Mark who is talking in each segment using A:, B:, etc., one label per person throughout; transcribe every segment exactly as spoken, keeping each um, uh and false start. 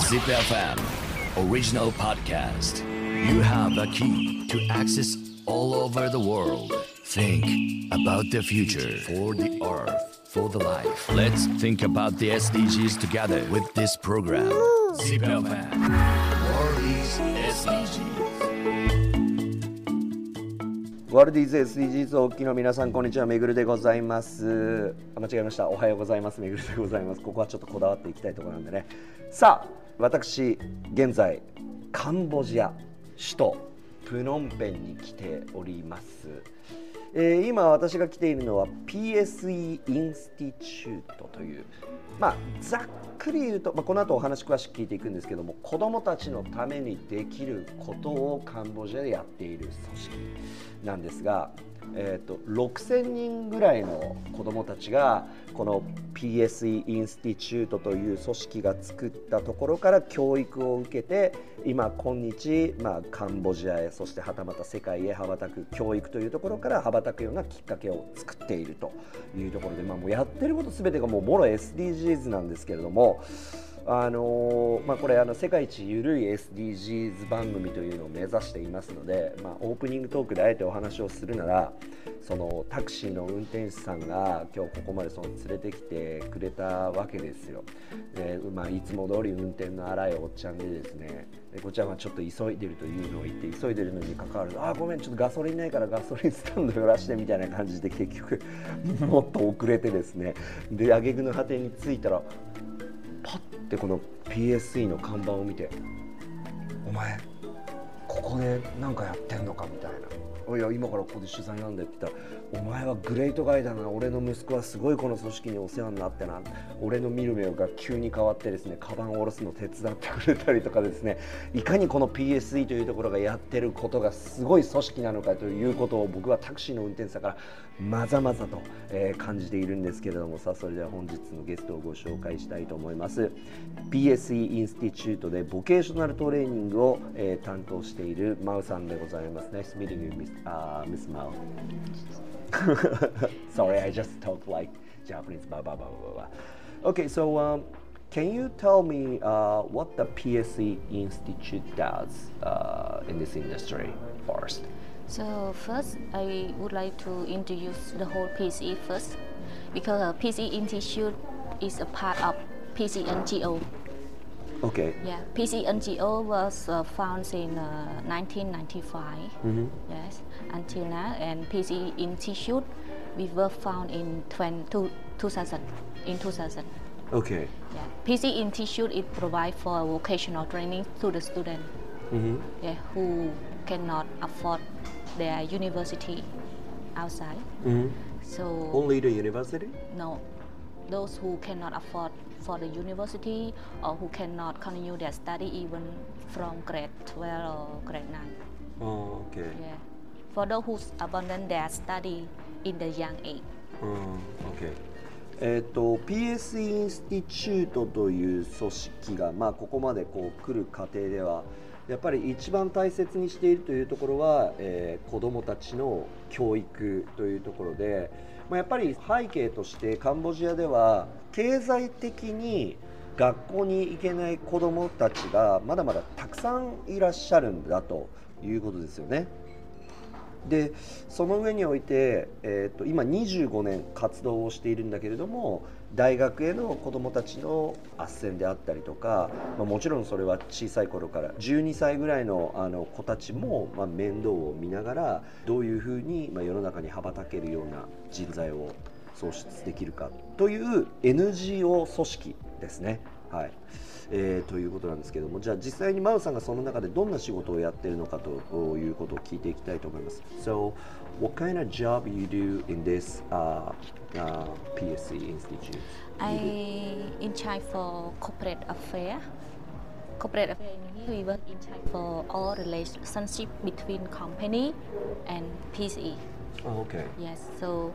A: Zip エフエム Original Podcast. You have a key to access all over the world. Think about the future for the earth, for the life. Let's think about the エスディージーズ together with this program. Zip エフエム World is エスディージーズ。
B: ワールディーズ エスディージーズ をお聞きの皆さん、こんにちは。めぐるでございます。間違えました。おはようございます。めぐるでございます。ここはちょっとこだわっていきたいところなんでね。さあ、私現在カンボジア首都プノンペンに来ております。えー、今私が来ているのは ピーエスイー インスティチュートという、まあざっくり言うと、まあ、この後お話詳しく聞いていくんですけども、子どもたちのためにできることをカンボジアでやっている組織なんですが、えー、とろくせんにんぐらいの子どもたちがこの ピーエスイー インスティチュートという組織が作ったところから教育を受けて、今今日、まあ、カンボジアへ、そしてはたまた世界へ羽ばたく、教育というところから羽ばたくようなきっかけを作っているというところで、まあ、もうやってることすべてがもうもろ エスディージーズ なんですけれども、あのーまあ、これあの世界一ゆるい エスディージーズ 番組というのを目指していますので、まあ、オープニングトークであえてお話をするなら、そのタクシーの運転手さんが今日ここまでその連れてきてくれたわけですよ。で、まあ、いつも通り運転の荒いおっちゃんでですね、でこちらはちょっと急いでるというのを言って、急いでるのに関わらず、あーごめんちょっとガソリンないからガソリンスタンド寄らしてみたいな感じで、結局もっと遅れてですね、で挙句の果てに着いたらパッてこの ピーエスイー の看板を見て、お前ここで何かやってんのかみたいな、いや今からここで取材なんだって言ったら、お前はグレートガイだな、俺の息子はすごいこの組織にお世話になってな、俺の見る目が急に変わってですね、カバンを下ろすの手伝ってくれたりとかですね、いかにこの ピーエスイー というところがやってることがすごい組織なのかということを、僕はタクシーの運転手さんからまざまざと、えー、感じているんですけれども、さあそれでは本日のゲストをご紹介したいと思います。 ピーエスイー インスティチュートでボケーショナルトレーニングを、えー、担当しているマウさんでございます。 Nice meeting you, Miss, uh, Miss Mao. Sorry, I just talk like Japanese. Blah blah blah blah blah. Okay, so um, can you tell me uh, what the P S E Institute does uh, in this industry first?
C: So first, I would like to introduce the whole P S E first, because uh, P S E Institute is a part of P S E N G O.
B: Okay.
C: Yeah, P S E N G O was uh, founded in uh, nineteen ninety-five.
B: Mm-hmm.
C: Yes, until now, and P S E Institute we were found in two thousand. In two thousand.
B: Okay.
C: Yeah, P S E Institute it provide for vocational training to the student.
B: Mm-hmm.
C: Yeah, who cannot afford their university outside.
B: Mm-hmm.
C: So
B: Only the university?
C: no, those who cannot afford for the university, or who cannot continue their study even from grade twelve or grade nine.
B: Oh, okay.
C: Yeah, for those who abandon their study in the young age.
B: Oh, okay. えーと、ピーエスイー インスティチュートという組織が、まあ、ここまでこう来る過程ではやっぱり一番大切にしているというところは、えー、子どもたちの教育というところで、まあ、やっぱり背景としてカンボジアでは経済的に学校に行けない子どもたちがまだまだたくさんいらっしゃるんだということですよね。でその上において、えー、と今にじゅうごねん活動をしているんだけれども、大学への子どもたちの斡旋であったりとか、まあ、もちろんそれは小さい頃からじゅうにさいぐらい の, あの子たちも、まあ、面倒を見ながら、どういうふうに、まあ、世の中に羽ばたけるような人材を創出できるかという エヌジーオー 組織ですね。はい、えー、ということなんですけども、じゃあ実際にマウさんがその中でどんな仕事をやっているのかということを聞いていきたいと思います。So, what kind of job you do in this、uh, uh, ピーエスイー Institute?
C: I in charge for corporate affair. Corporate affair. We work in charge for all relationship between company and P S E.
B: Oh, okay.
C: Yes. So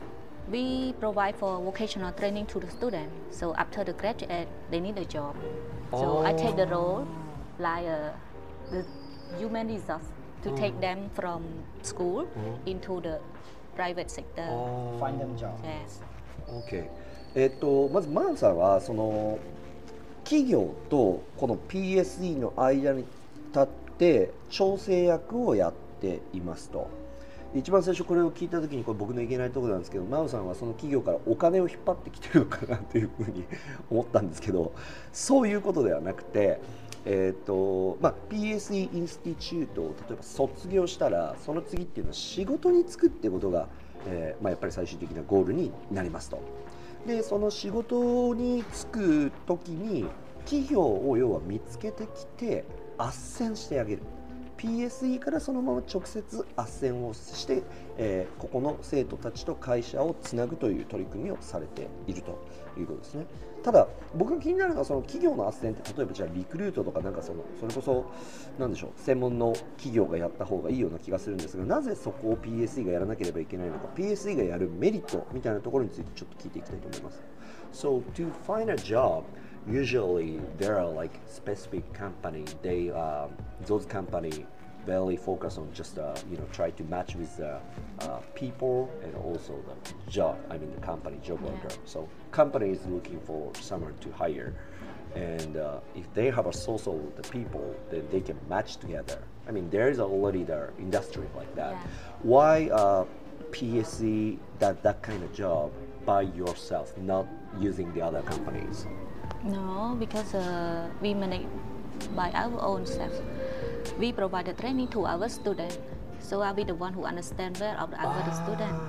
C: we provide for vocational training to the student. So after the graduate, they need a job. So
B: oh.
C: I take the role like uh, the human resource to
B: oh.
C: take them from school
B: oh.
C: into the private sector.
B: Oh.
D: Find them job.
C: Yes.
B: Okay. えっとまずマンさんはその企業とこの ピーエスイー の間に立って調整役をやっていますと。一番最初これを聞いた時にこれ僕のいけないところなんですけど、マウさんはその企業からお金を引っ張ってきてるのかなというふうに思ったんですけど、そういうことではなくて、えーとまあ、ピーエスイー インスティチュートを例えば卒業したらその次っていうのは仕事に就くってことが、えーまあ、やっぱり最終的なゴールになりますと。でその仕事に就く時に企業を要は見つけてきて斡旋してあげる。ピーエスイー からそのまま直接斡旋をして、えー、ここの生徒たちと会社をつなぐという取り組みをされているということですね。ただ僕が気になるのはその企業の斡旋って例えばじゃあリクルートとかなんかそのそれこそなんでしょう専門の企業がやった方がいいような気がするんですが、なぜそこを ピーエスイー がやらなければいけないのか、 ピーエスイー がやるメリットみたいなところについてちょっと聞いていきたいと思います。 So to find a job, usually there are like specific company, they um, those company barely focus on just uh, you know try to match with the uh, people and also the job, I mean the company job worker.
C: Yeah.
B: So company is looking for someone to hire, and uh, if they have a source of the people, then they can match together. I mean there is already the industry like that.
C: Yeah.
B: Why uh, P S E that that kind of job by yourself, not using the other companies?
C: No, because uh, we manage by our own self. We provide the training to our students, so I'll be the one who understands well of our
B: Ah.
C: students.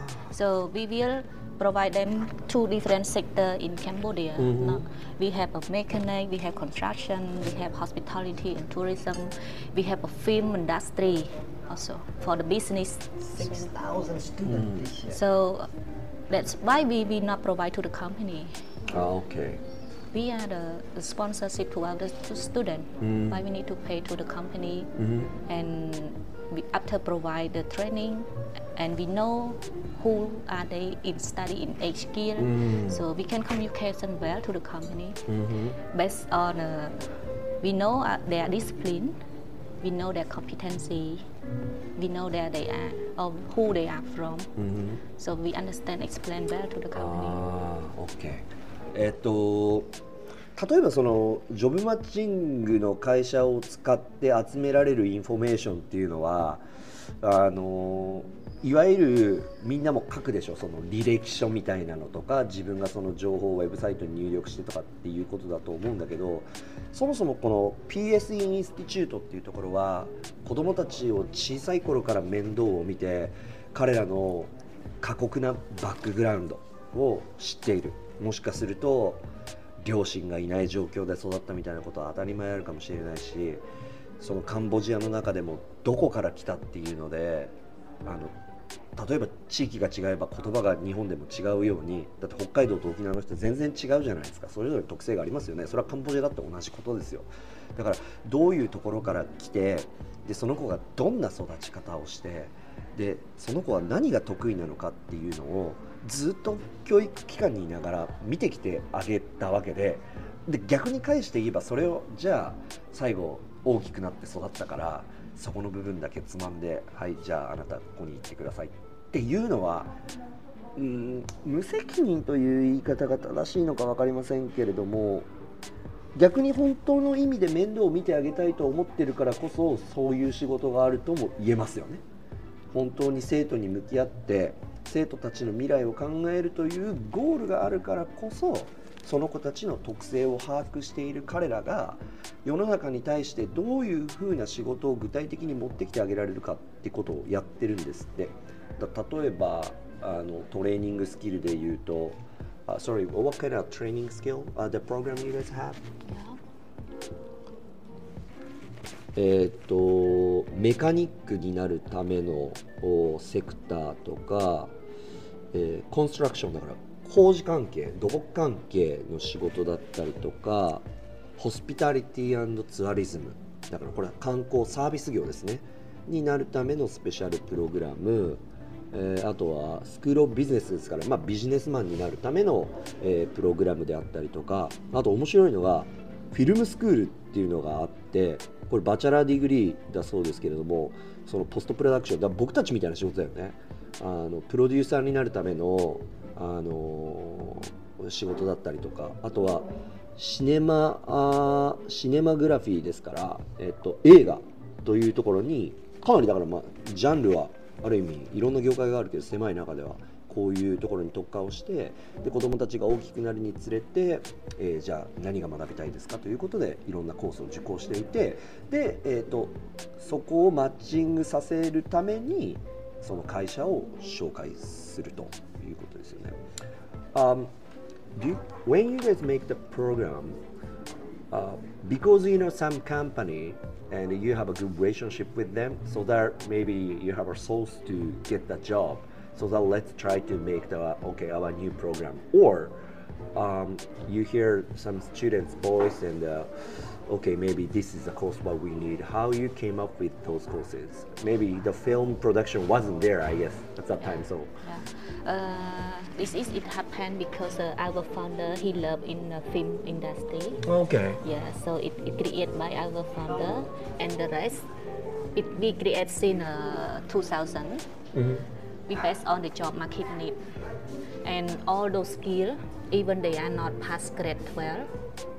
C: So we will provide them two different sectors in Cambodia.
B: Mhm.
C: No? We have a mechanic, we have construction, we have hospitality and tourism, we have a film industry also for the business.
D: six thousand students this year.
C: So that's why we will not provide to the company.
B: Ah, okay.
C: We are the, the sponsorship to our student.
B: Mm.
C: Why we need to pay to the company,
B: Mhm.
C: and we after provide the training, and we know who are they in study in each year,
B: Mm.
C: so we can communicate well to the company
B: Mhm.
C: based on uh, we know uh, their discipline, we know their competency, we know where they are or who they are from,
B: Mhm.
C: so we understand, explain well to the company.
B: ああ、OK。えっと例えばそのジョブマッチングの会社を使って集められるインフォメーションっていうのはあのいわゆるみんなも書くでしょ、その履歴書みたいなのとか自分がその情報をウェブサイトに入力してとかっていうことだと思うんだけど、そもそもこの ピーエスイー インスティチュートっていうところは子どもたちを小さい頃から面倒を見て彼らの過酷なバックグラウンドを知っている、もしかすると両親がいない状況で育ったみたいなことは当たり前あるかもしれないし、そのカンボジアの中でもどこから来たっていうのであの例えば地域が違えば言葉が日本でも違うように、だって北海道と沖縄の人全然違うじゃないですか。それぞれ特性がありますよね。それはカンボジアだって同じことですよ。だからどういうところから来て、でその子がどんな育ち方をして、でその子は何が得意なのかっていうのをずっと教育機関にいながら見てきてあげたわけで、で逆に返して言えばそれをじゃあ最後大きくなって育ったからそこの部分だけつまんで、はいじゃああなたここに行ってくださいっていうのは、うーん無責任という言い方が正しいのか分かりませんけれども、逆に本当の意味で面倒を見てあげたいと思ってるからこそそういう仕事があるとも言えますよね。本当に生徒に向き合って生徒たちの未来を考えるというゴールがあるからこそ、その子たちの特性を把握している彼らが世の中に対してどういうふうな仕事を具体的に持ってきてあげられるかってことをやってるんですって。だ例えばあのトレーニングスキルで言うと、uh, sorry, what kind of training skill、uh, the program you guys have? えー、とメカニックになるためのセクターとか、えー、コンストラクションだから工事関係、土木関係の仕事だったりとか、ホスピタリティ&ツアリズムだからこれは観光サービス業ですねになるためのスペシャルプログラム、えー、あとはスクールオブビジネスですから、まあ、ビジネスマンになるための、えー、プログラムであったりとか、あと面白いのがフィルムスクールっていうのがあって、これバチェラーディグリーだそうですけれども、そのポストプロダクションだ僕たちみたいな仕事だよね。あのプロデューサーになるための、あのー、仕事だったりとか、あとはシネマあシネマグラフィーですから、えっと、映画というところにかなりだから、まあ、ジャンルはある意味いろんな業界があるけど狭い中ではこういうところに特化をして、で子どもたちが大きくなるにつれて、えー、じゃあ何が学びたいですかということでいろんなコースを受講していて、で、えーと、そこをマッチングさせるためにその会社を紹介するということですよね。Um, do you, when you guys make the program, uh, because you know some company and you have a good relationship with them, so that maybe you have a source to get the job. So that let's try to make the okay our new program. Or um, you hear some students' voice and uh, okay maybe this is a course what we need. How you came up with those courses? Maybe the film production wasn't there, I guess, at that time. So
C: yeah. uh, this is it happened because uh, our founder he loved in the film industry.
B: Okay.
C: Yeah, so it, it created by our founder and the rest it we created in uh, two thousand. Mm-hmm. We based on the job market need, and all those skills, even they are not past grade twelve,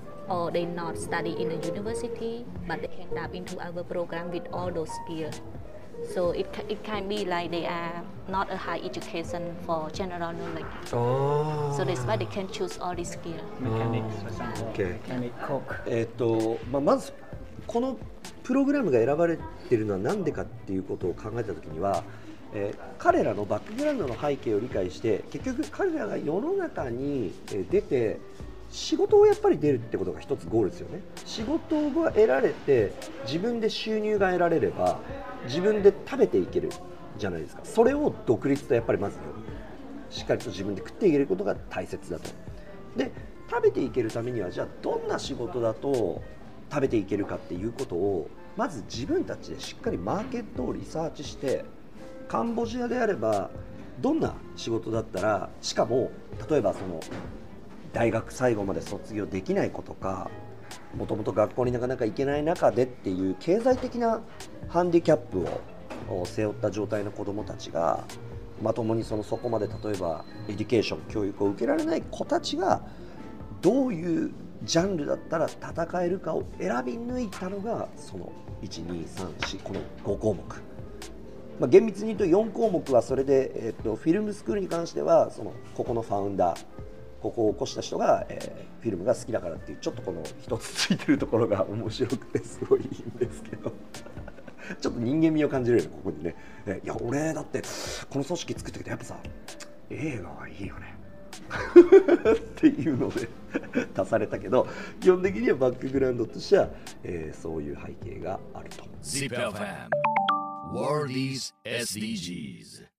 C: or they not study in a university, but they can tap into our program with all those skills. So it it can be like they are not a high education for general knowledge.
B: Oh.
C: So that's why they can choose all these skills.
D: Mechanics, for example.
B: Okay.
D: Mechanic, cook.
B: えっとまあまずこのプログラムが選ばれているのは何でかっていうことを考えたときには。えー、彼らのバックグラウンドの背景を理解して結局彼らが世の中に出て仕事をやっぱり出るってことが一つゴールですよね。仕事が得られて自分で収入が得られれば自分で食べていけるじゃないですか。それを独立とやっぱりまずしっかりと自分で食っていけることが大切だと。で食べていけるためにはじゃあどんな仕事だと食べていけるかっていうことをまず自分たちでしっかりマーケットをリサーチしてカンボジアであればどんな仕事だったらしかも例えばその大学最後まで卒業できない子とかもともと学校になかなか行けない中でっていう経済的なハンディキャップを背負った状態の子どもたちがまともにそのそこまで例えばエデュケーション教育を受けられない子たちがどういうジャンルだったら戦えるかを選び抜いたのがそのいち、に、さん、よんこのご項目。まあ、厳密に言うとよん項目はそれで、えー、とフィルムスクールに関してはそのここのファウンダーここを起こした人が、えー、フィルムが好きだからっていうちょっとこの一つついてるところが面白くてすごいいいんですけどちょっと人間味を感じるよねここにね。いや俺だってこの組織作ってきてやっぱさ映画はいいよねっていうので足されたけど基本的にはバックグラウンドとしては、えー、そういう背景があると。
A: ジップ エフエムWorld is エスディージーズ